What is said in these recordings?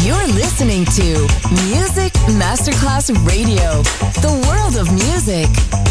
You're listening to Music Masterclass Radio, the world of music.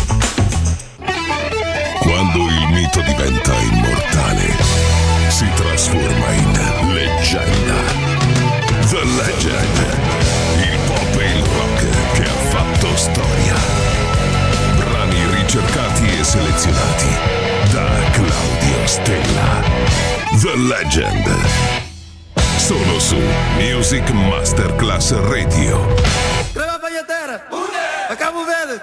Quando il mito diventa immortale, si trasforma in leggenda. The Legend, il pop e il rock che ha fatto storia. Brani ricercati e selezionati da Claudio Stella. The Legend. Solo su Music Masterclass Radio. Crema pagliatera! A Cabo Verde!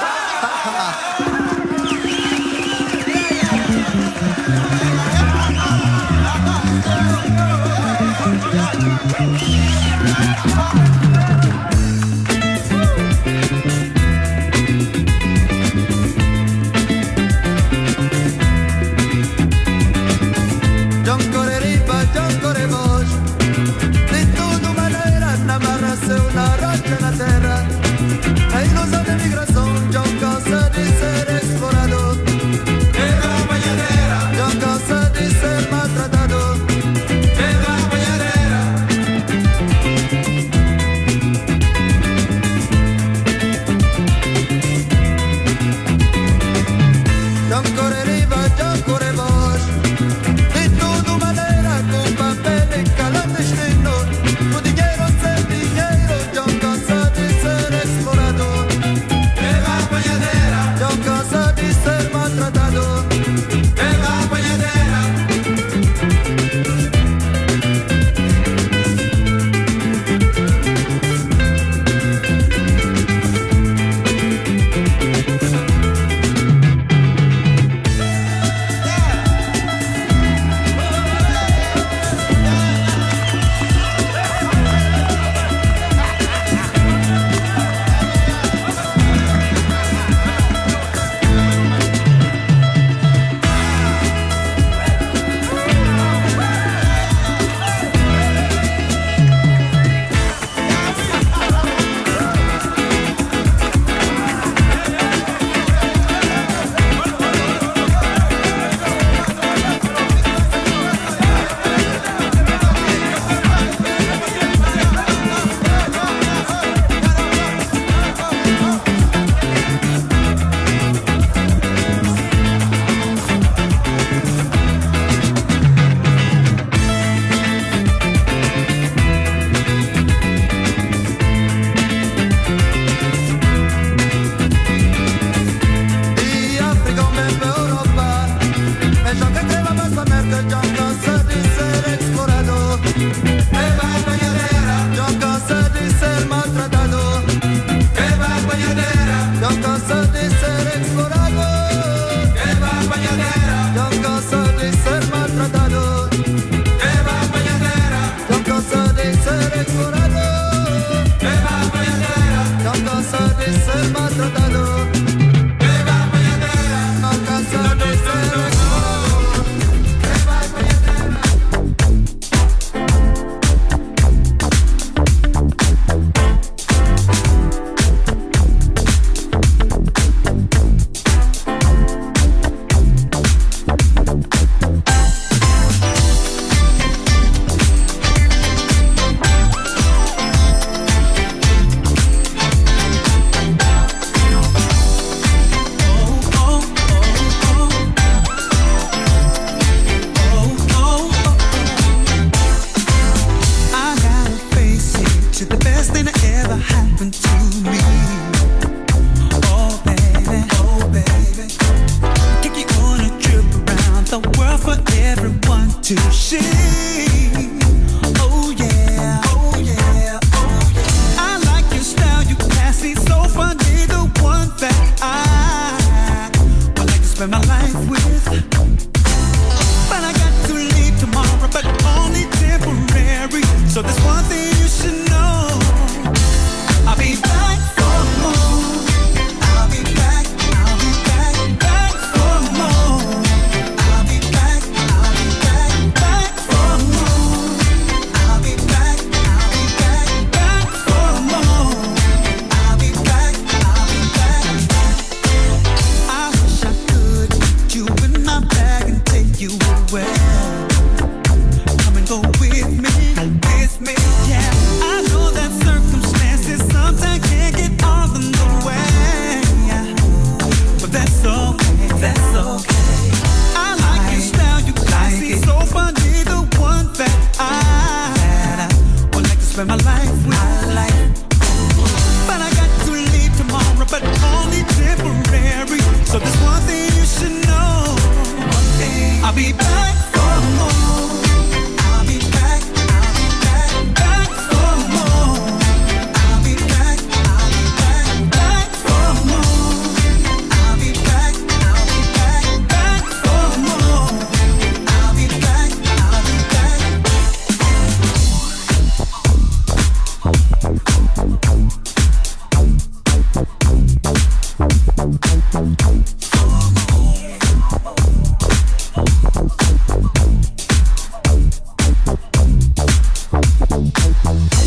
Na terra, a ilusão de migração, já cansa de ser explorado. Pega a banhadeira, já cansa de ser maltratado. Pega a banhadeira. Já corre riva, já corre voz. De tudo maneira, com papel e clandestino. O dinheiro sem dinheiro, já cansa de ser explorado. Pega a banhadeira, já cansa de ser maltratado. pega a banhadeira.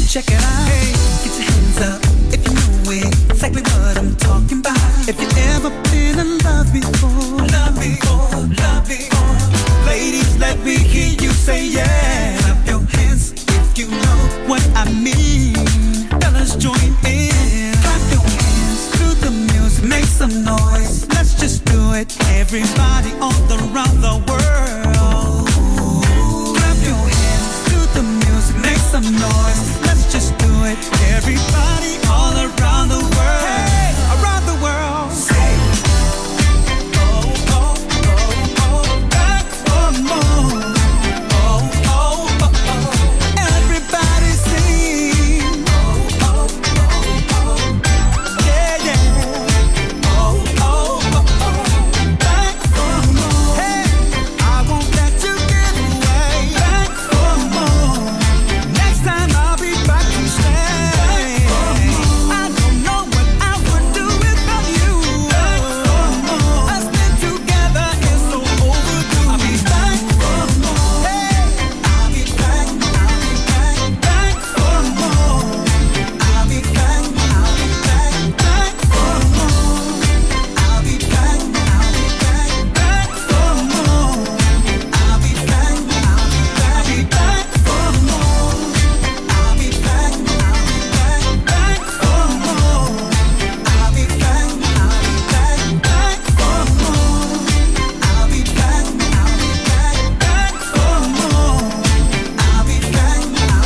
Check it out. Hey, get your hands up if you know it. Exactly what I'm talking about. If you ever been in love before, love before, love before. Ladies, let me hear you say yeah. Clap your hands if you know what I mean. Fellas, join in. Clap your hands to the music, make some noise. Let's just do it. Everybody all around the world. Clap your hands to the music, make some noise. Let's just do it. Everybody all around the world. Hey, around the world. Say, oh, oh, oh, oh, back for more. Oh, oh, oh, oh. Everybody sing. Oh, oh, oh, oh. Yeah, yeah. Oh, oh, oh, oh. Back for more. Hey, I won't let you get away. Back for more. Next time I'll be back to stay. I don't know what I would do without you. Us being together is so overdue. I'll be back for more. Hey, I'll be back, back for more. I'll be back, back for more. I'll be back, back for more. I'll be back, back for more. I'll be back, back for more. I'll be back, back for more. I'll be back, back for more. I'll be back,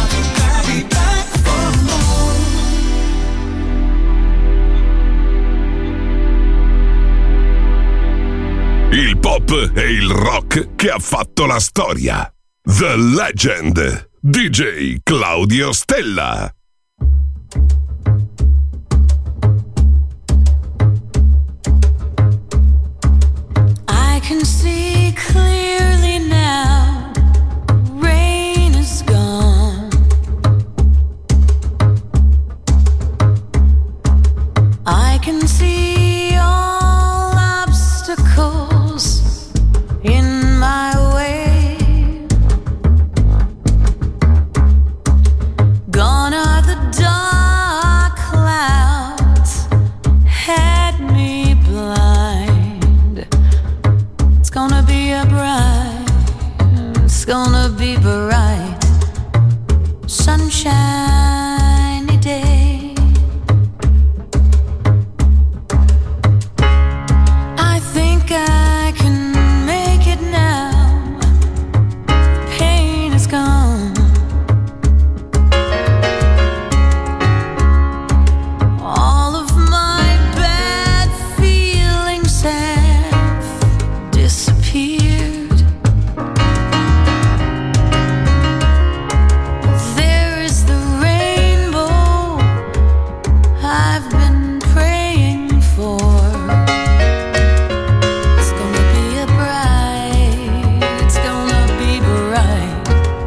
for more. Il pop e il rock che ha fatto la storia. The Legend. DJ Claudio Stella. I can see clearly now. Rain is gone. I can see all obstacles in my way. Gone are the dark clouds, had me blind. It's gonna be a bright, it's gonna be bright, sunshiny day. I think I can make it now. The pain is gone. All of my bad feelings have disappeared. There is the rainbow I've been praying for. It's gonna be a bright, it's gonna be bright,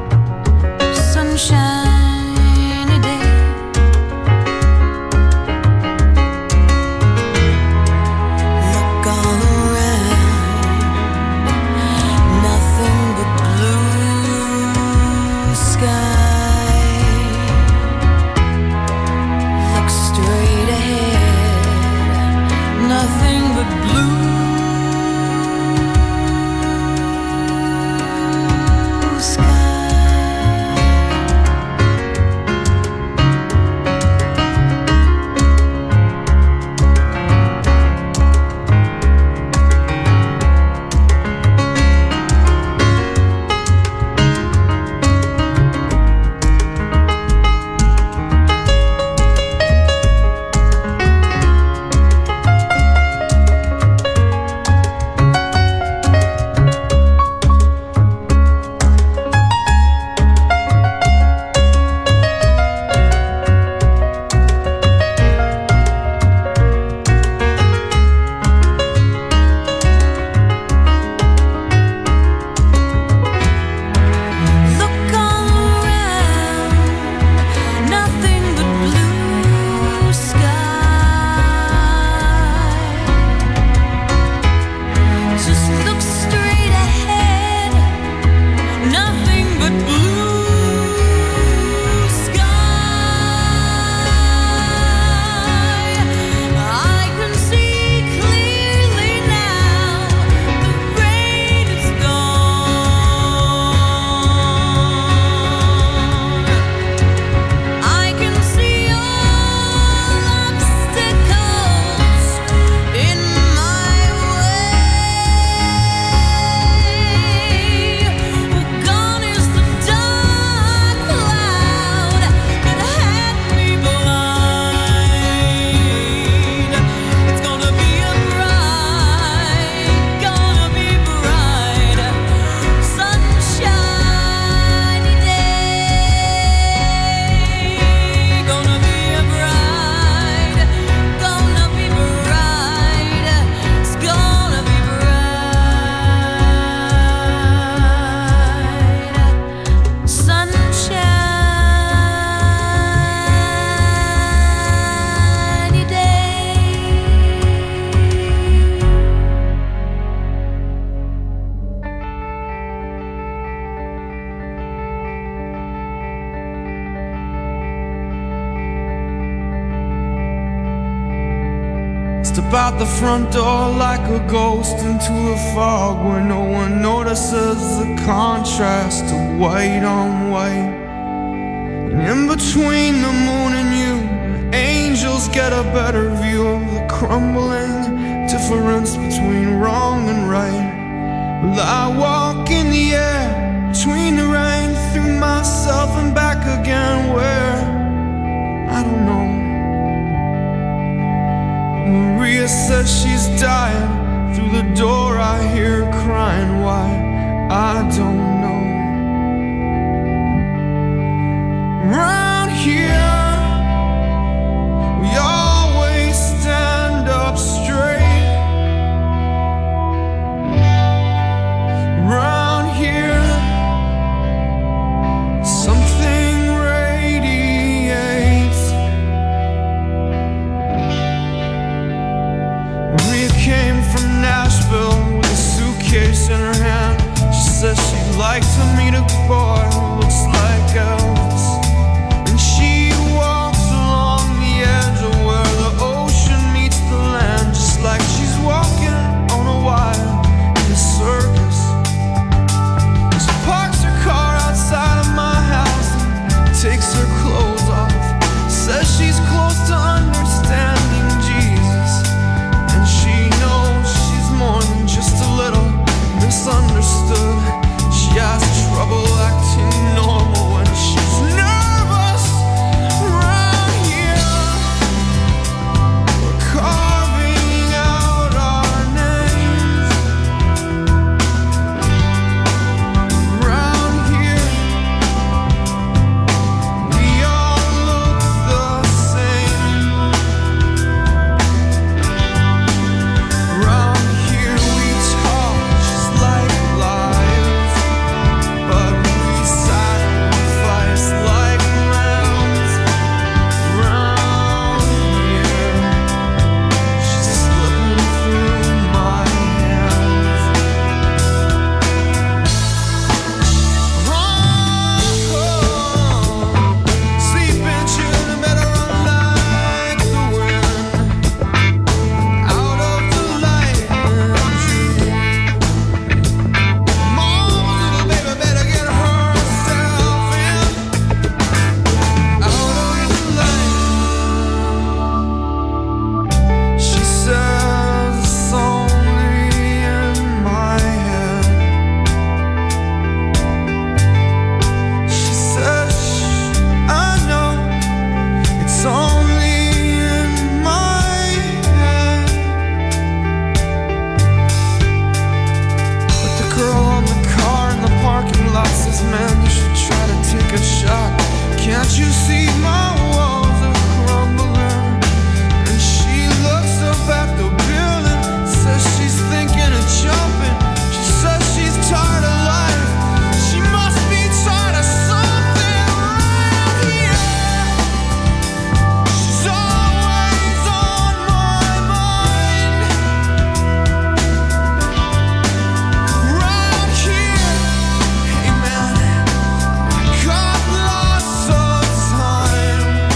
sunshiny day. Look all around, nothing but blue sky. Look straight ahead, nothing but blue sky. Step out the front door like a ghost into the fog where no one notices the contrast of white on white. And in between the moon and you, angels get a better view of the crumbling difference between wrong and right. Well, I walk in the air between the rain, through myself and back again, where I don't know. Maria says she's dying. Through the door I hear her crying. Why? I don't know. Round here we always stand up straight. Round here something radiates. Maria came from Nashville with a suitcase in her hand. She says she'd like to meet a boy who looks like Elvis. And she walks along the edge of where the ocean meets the land, just like she's walking on a wire in a circus. She parks her car outside of my house and takes her clothes off. Says she's close to understanding Jesus, and she knows she's more than just a little misunderstood. She has trouble acting normal when she's nervous. Round here we're carving out our names. Round here we all look the same. Round here we talk just like liars, but we sacrifice like lambs. Round here she's slipping through my hands. Sleeping children better run like the wind, out of the light and dream. Mama's little baby better get herself in, out of the light. She says it's only in my head. She says, I know it's only in my head. But the girl on the car in the parking lot says, man, you should try to take a shot. Can't you see my walls are crumbling? And she looks up at the building, says she's thinking of jumping. She says she's tired of life. She must be tired of something. Around here she's always on my mind. Round here, hey man, I got lots of time.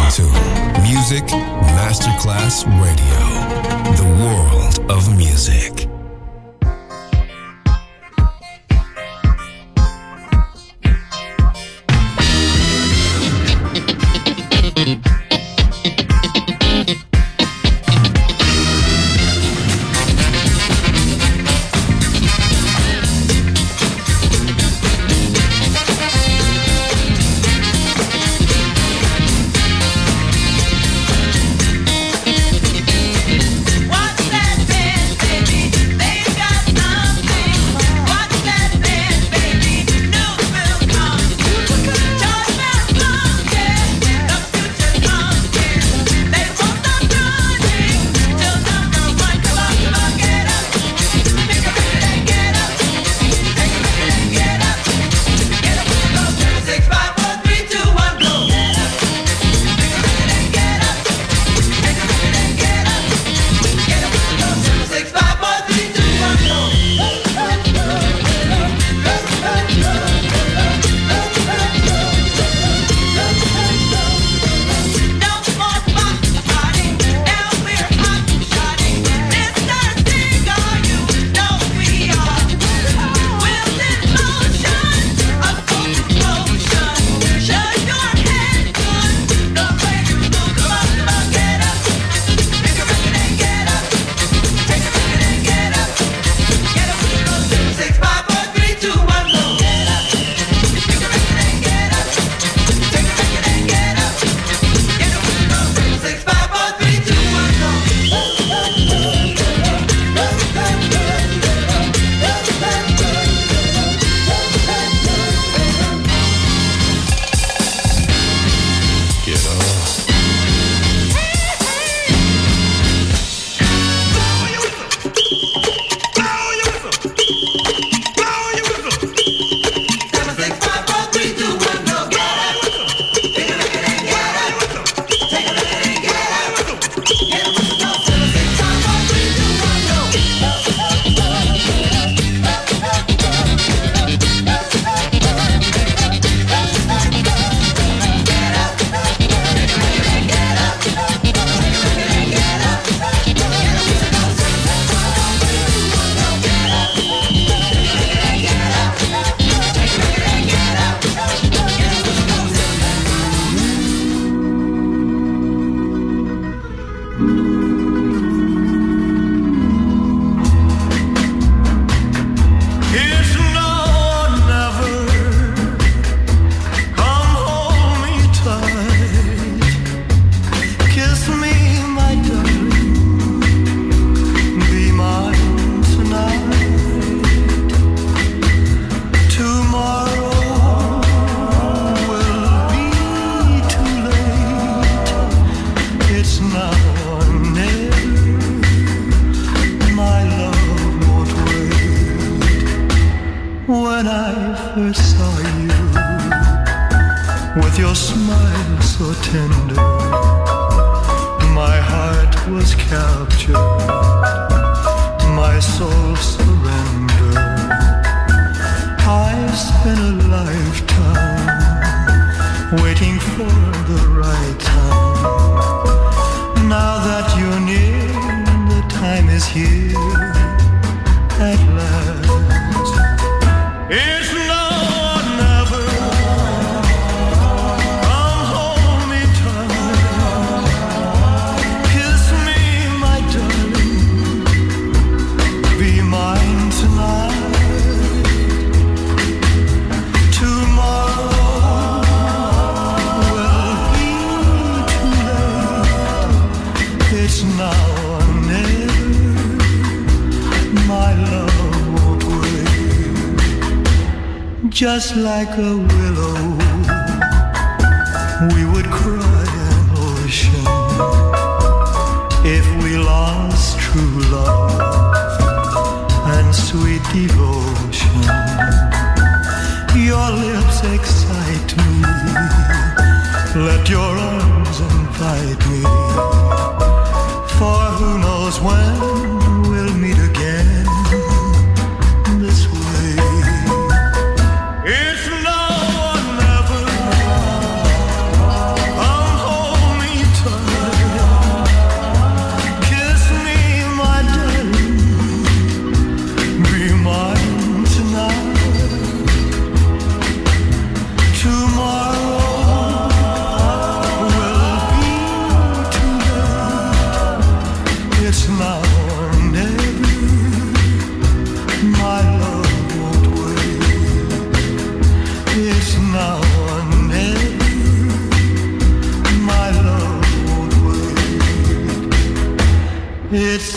to Music Masterclass Radio, the world of music. Just like a willow, we would cry an ocean if we lost true love and sweet devotion. Your lips excite me, let your arms invite me, for who knows when we'll meet again this way. It's now or never. Come hold me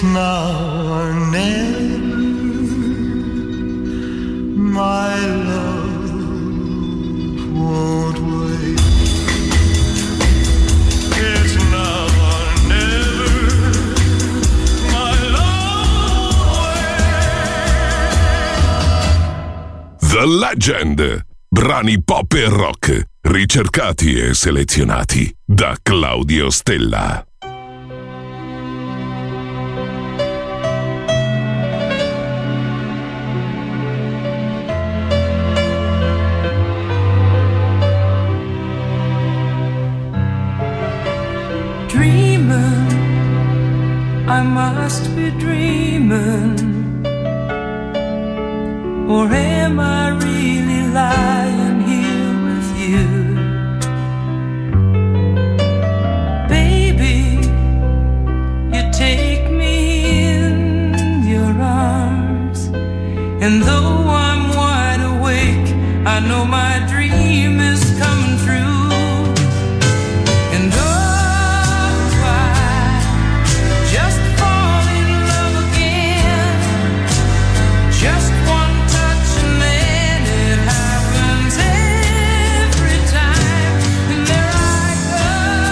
It's now or never, my love won't wait. It's now or never, my love wait. The Legend. Brani pop e rock, ricercati e selezionati da Claudio Stella. Dreaming, I must be dreaming, or am I really lying here with you? Baby, you take me in your arms, and though I'm wide awake, I know my dream is coming true. And oh, I just fall in love again, just one touch and then it happens every time. And there I go,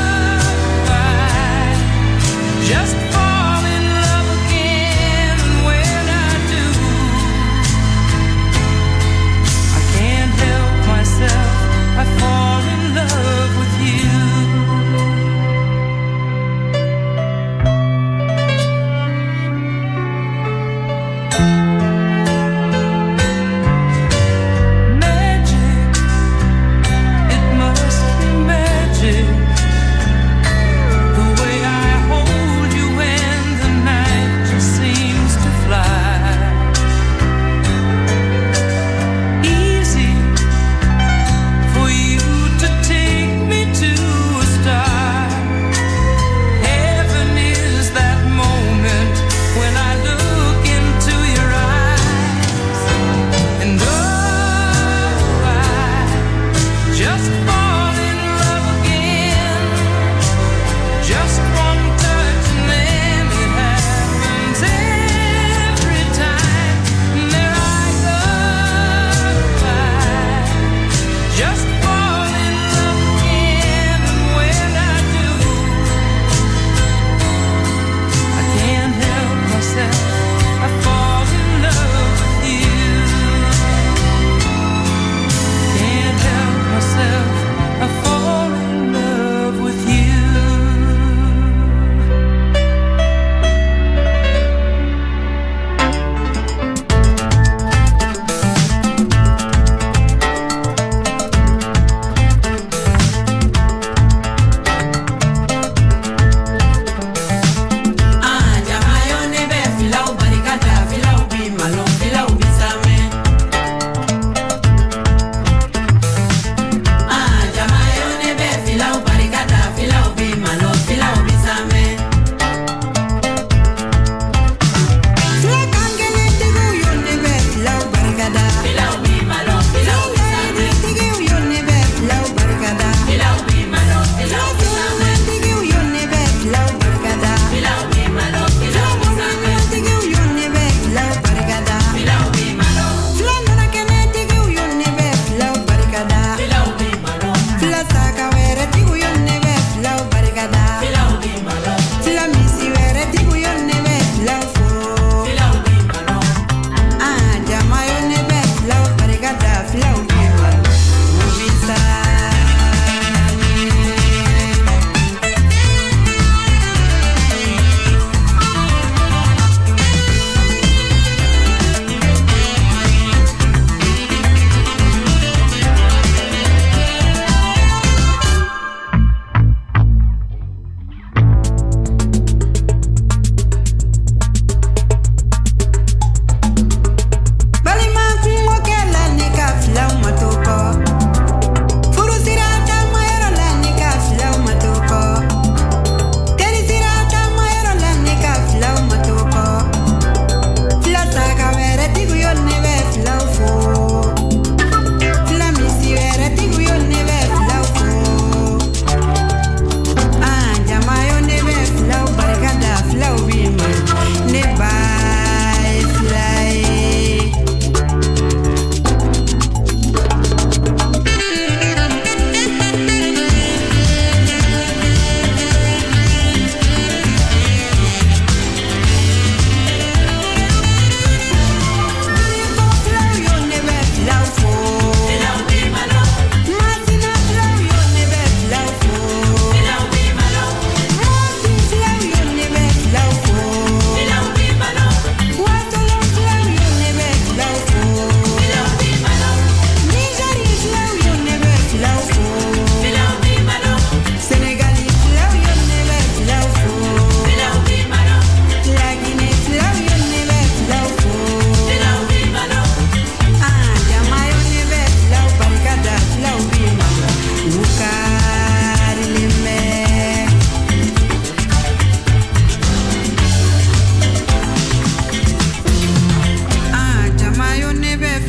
I just fall in love again. And when I do, I can't help myself, I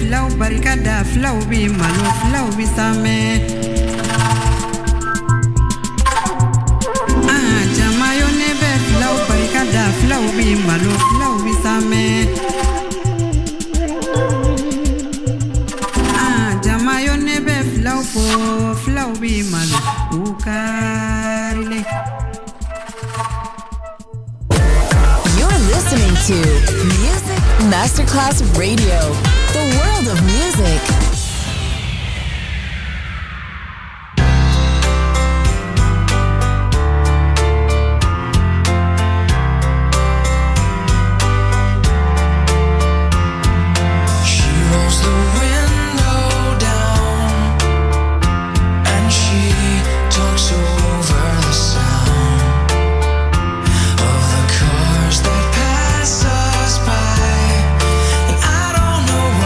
flow barikada flow bi malo flow bi same jama yo nebe flow barikada flow bi malo flow bi same jama yo nebe flow po flow bi malo ukarile. Listening to Music Masterclass Radio, the world of music. I don't know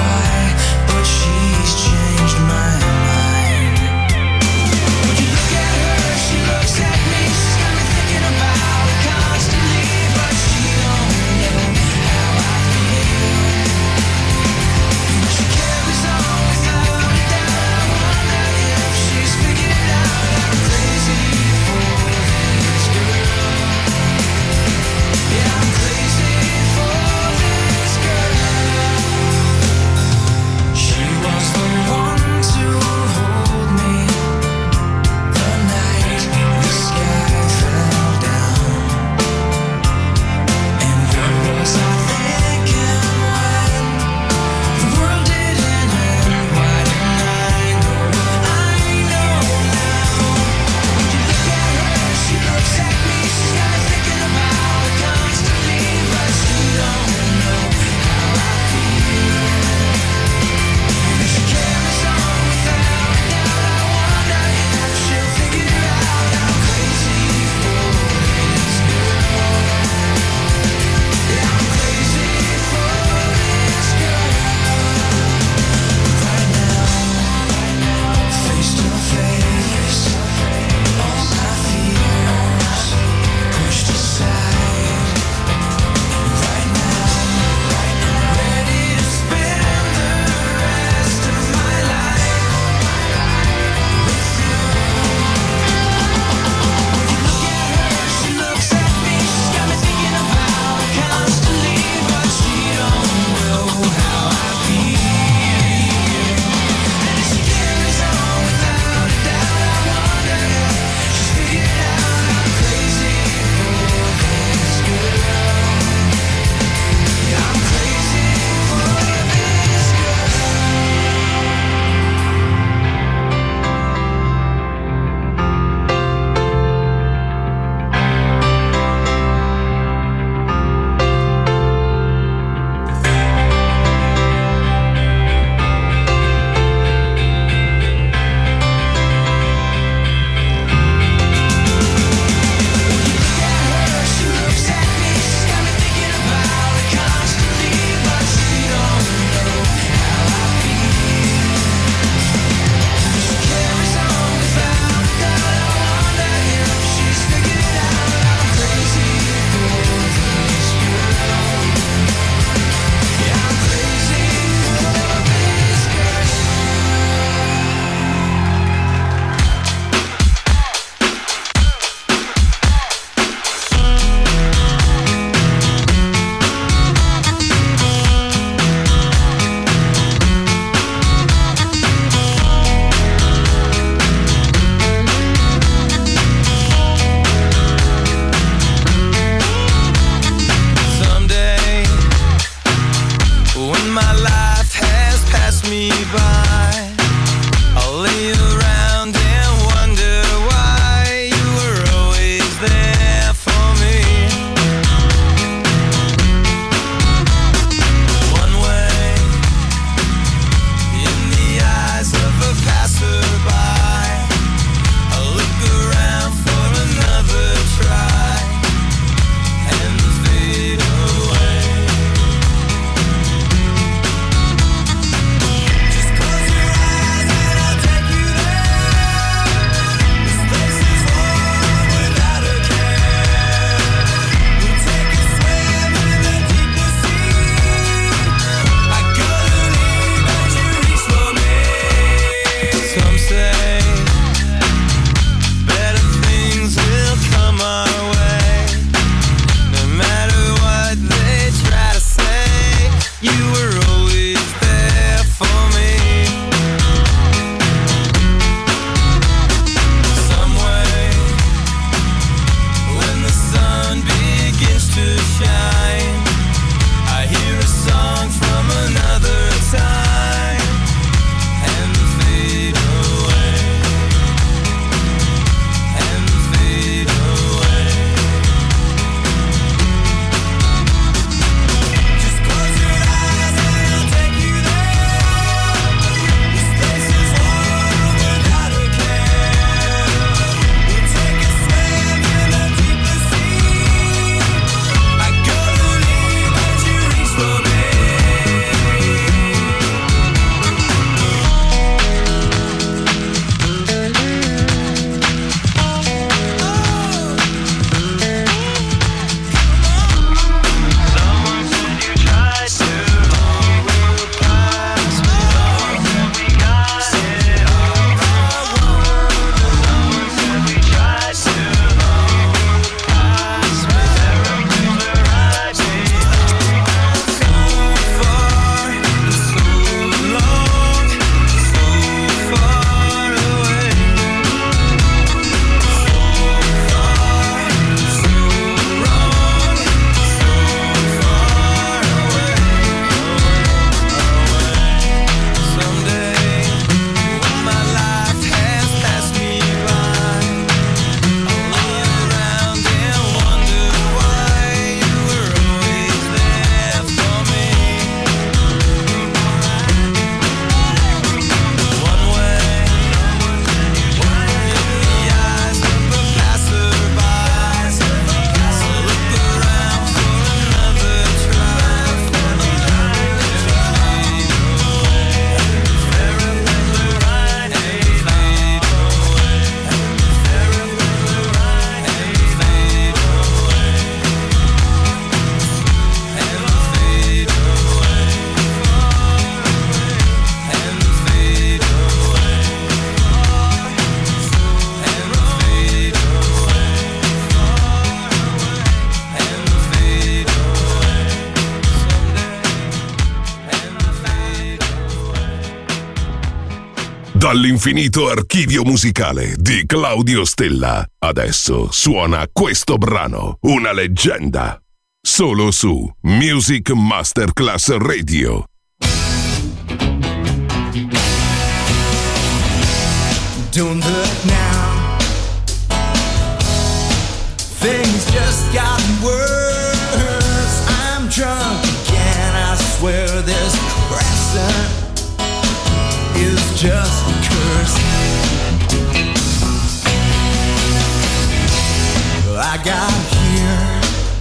Dall'infinito archivio musicale di Claudio Stella, adesso suona questo brano, una leggenda, solo su Music Masterclass Radio. Don't look now, things just got worse. I'm drunk again, I swear this crescent is just a curse. I got here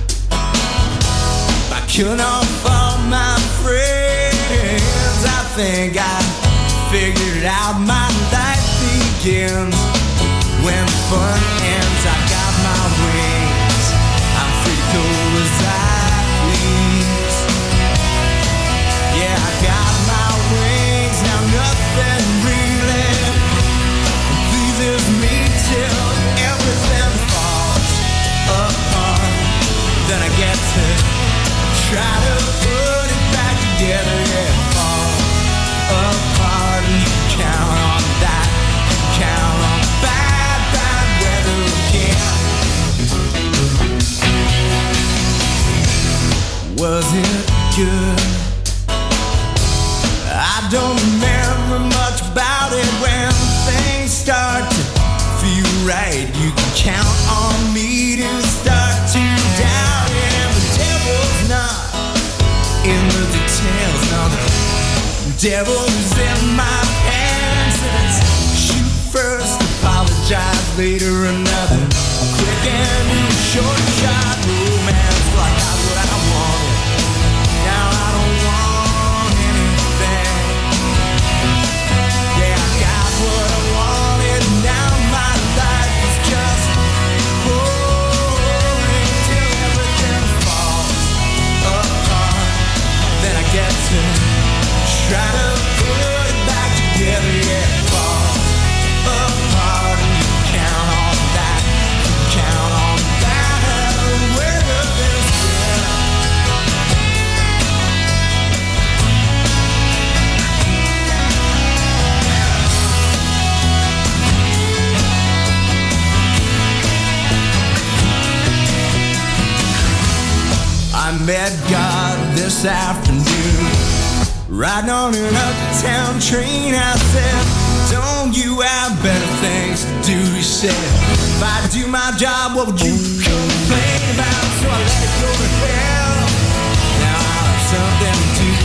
by killing off all my friends. I think I figured out my life begins when fun ends. I got my wings, I'm free to go as I please. Yeah, I got my wings, now nothing really pleases me till everything falls apart. Then I get to try to put it back together. Yeah, fall apart and count on that. Count on bad, bad weather again. Was it good? I don't remember much about it. When things start to feel right, you can count on me to start to doubt it. And the devil's not in the details, no, the devil's in my pants. And it's shoot first, apologize later, another quick and short shot romance. Well, I got what I wanted, now I don't want anything. Yeah, I got what I wanted, now my life is just boring till everything falls apart. Then I get to try to put it back together. Yeah, fall apart and you count on that. Count on that. Where this been? I met God this afternoon, riding on an uptown train. I said, don't you have better things to do? He said, if I do my job, what would you complain about? So I let it go to hell. Now I have something to do.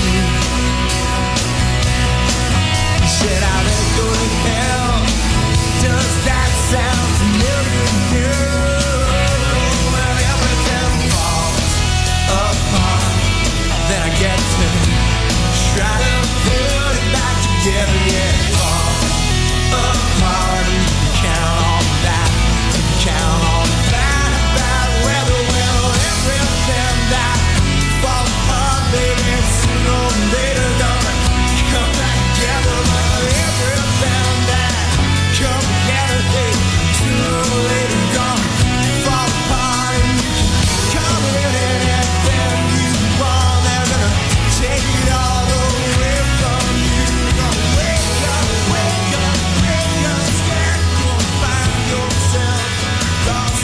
He said, I let it go to hell. Does that sound familiar? Well, everything falls apart. Then I get to try to put it back together. Yeah, fall apart and count on that. Count on that. Bad weather, well, everything that falls apart, baby, sooner or later gonna come back together. Well, everything that come together, hey, sooner or later gonna fall apart. And you can come in anything you want. They're gonna take it all away from you. Gonna wake up, wake up, wake up, scared. Gonna find yourself lost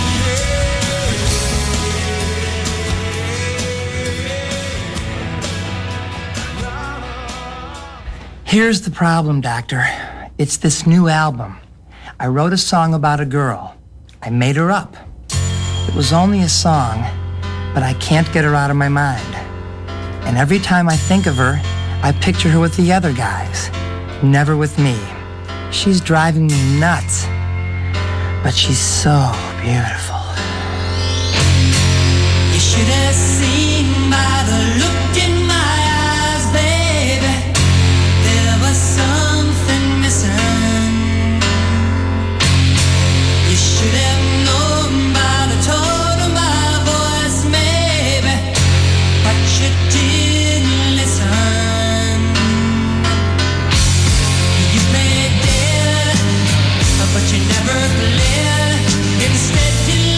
Here's the problem, Doctor. It's this new album. I wrote a song about a girl. I made her up. It was only a song, but I can't get her out of my mind. And every time I think of her, I picture her with the other guys, never with me. She's driving me nuts, but she's so beautiful. You should have seen by the look in my eyes, baby. There was something missing. You should have known by the tone of my voice, maybe, but you didn't listen. You played dead, but you never played. Instead you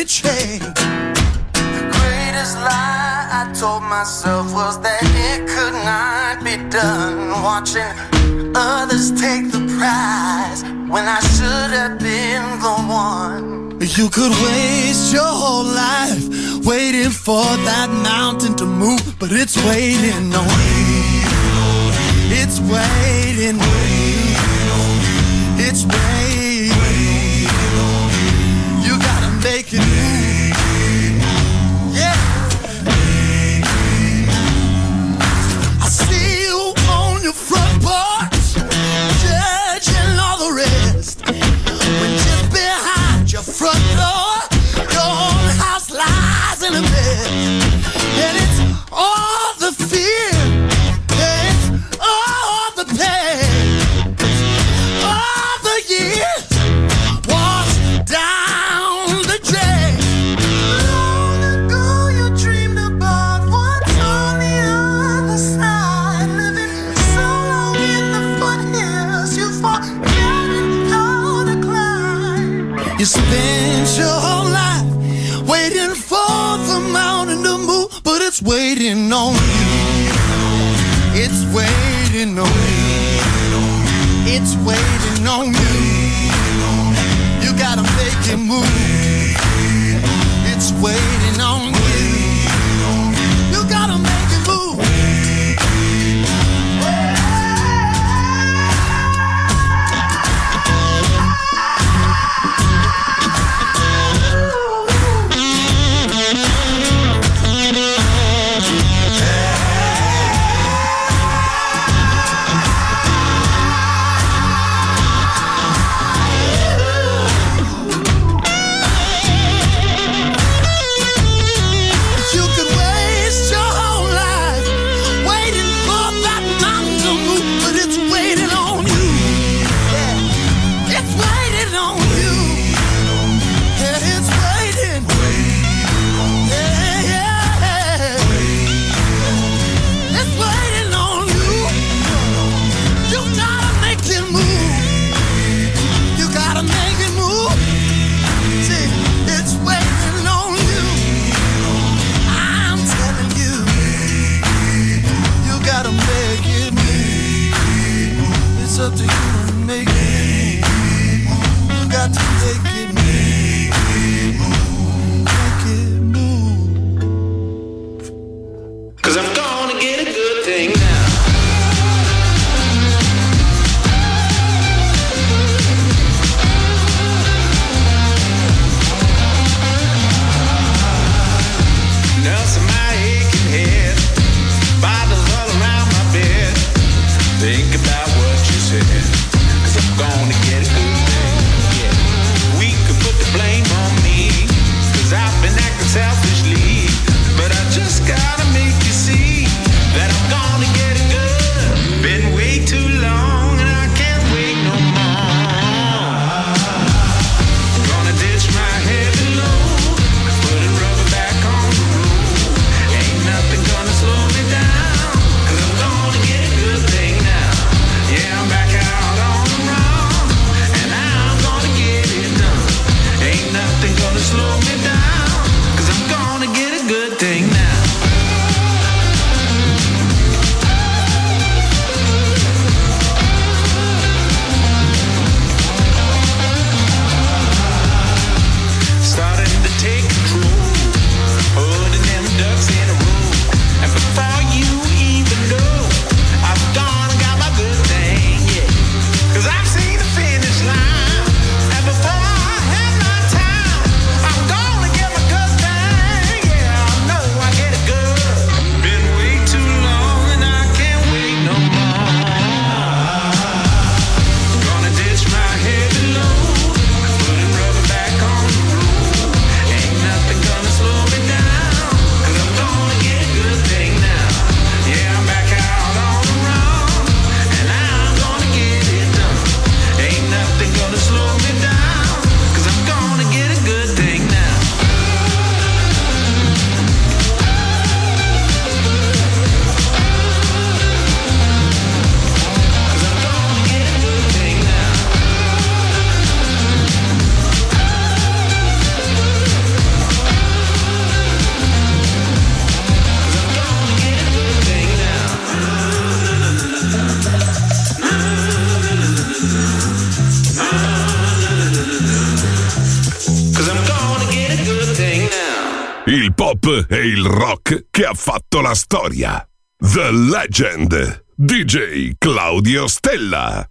only change. The greatest lie I told myself was that it could not be done. Watching others take the prize when I should have been the one. You could waste your whole life waiting for that mountain to move, but it's waiting on you. It's waiting on you. It's waiting. You gotta make it move. Yeah. I see you on your front porch, judging all the rest. When just behind your front door, your own house lies in a mess. And it's all the fear, it's all the pain, all the years washed down the drain. Long ago you dreamed about what's on the other side, living so long in the foothills you forget how to climb. You spent your whole life waiting for the mountain to move, but it's waiting on you. It's waiting on you. It's waiting on you. You gotta make it move. It's waiting on you. You gotta make it move. You could waste your whole life waiting for that mountain to move, but it's waiting on you. Yeah. It's waiting on you. Yeah, it's waiting. Yeah, yeah. It's waiting on you. You gotta make it move. You gotta make it move. See, it's waiting on you. I'm telling you, you gotta make it move. It's up to you to make it move. You got to make it move. Make it move. 'Cause I'm gonna get a good thing now. Nursing my aching head, bottles all around my bed. Think about what you said, 'cause I'm gonna get a good thing. Yeah. We could put the blame on me, 'cause I've been acting selfishly. But I just gotta make you see that I'm gonna get it good. Been way too long and I can't wait no more. Gonna ditch my heavy load, putting rubber back on the road. Ain't nothing gonna slow me down, 'cause I'm gonna get a good thing now. e il rock che ha fatto la storia. The Legend, DJ Claudio Stella.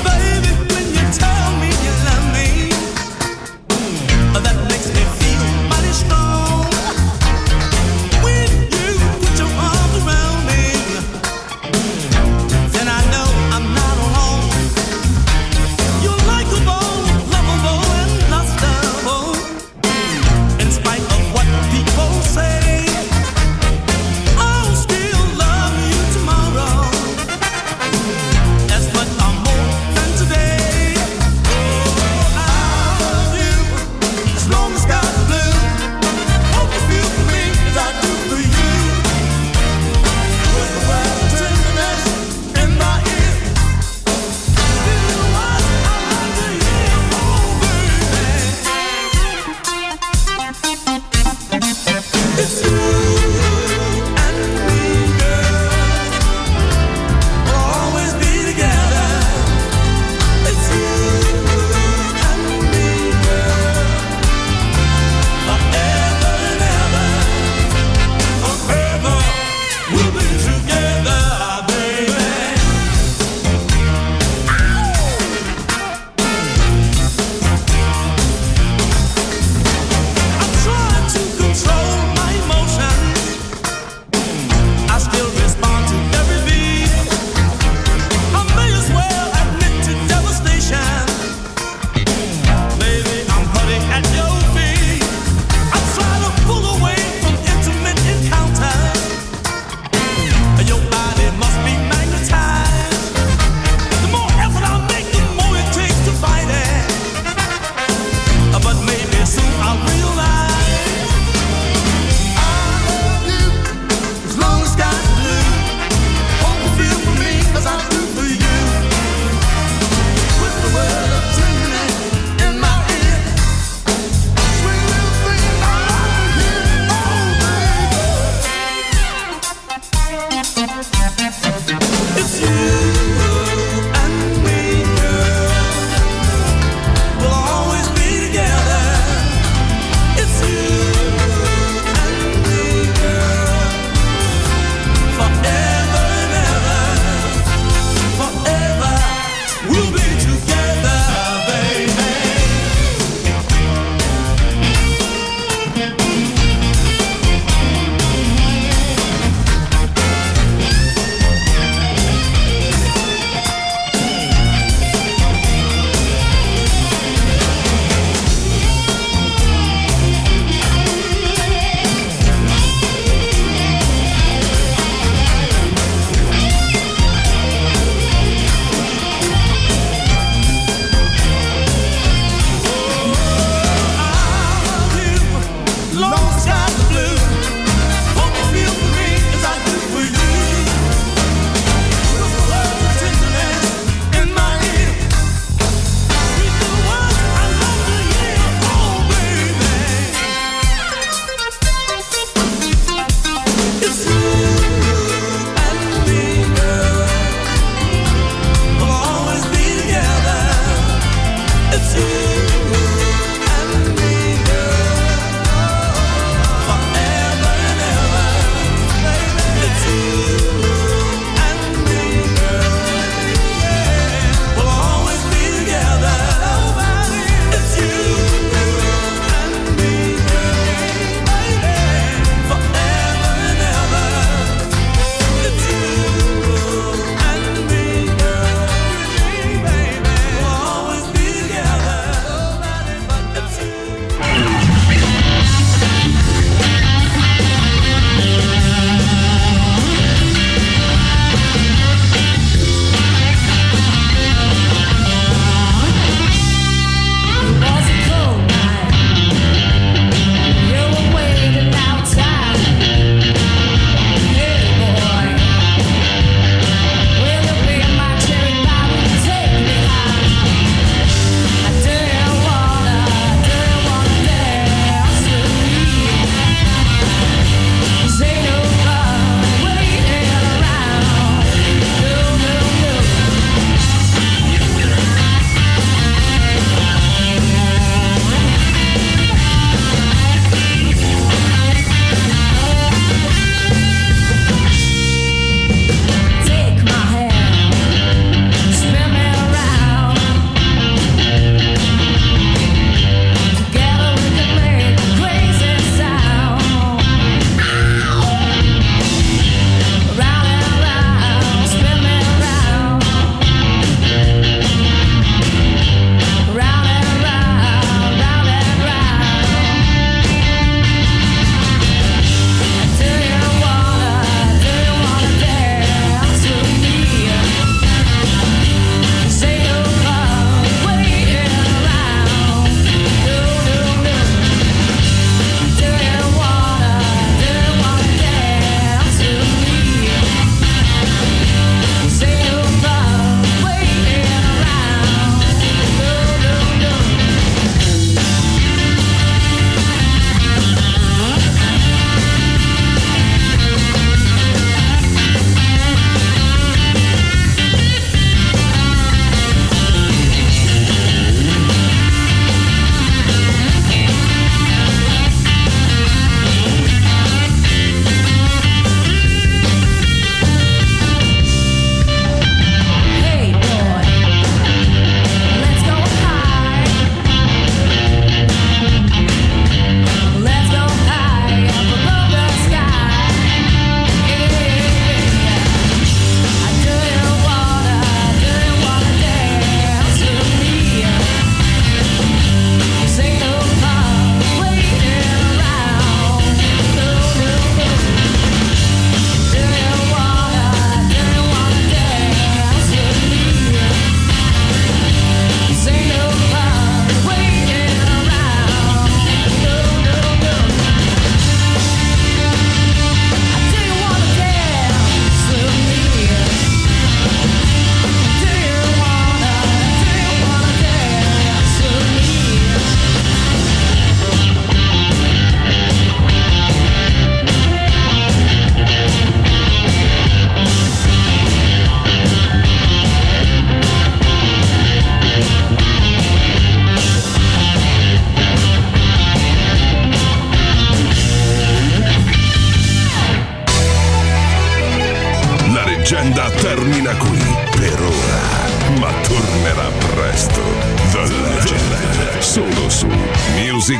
That makes me feel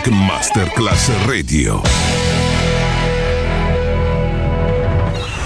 Music Masterclass Radio.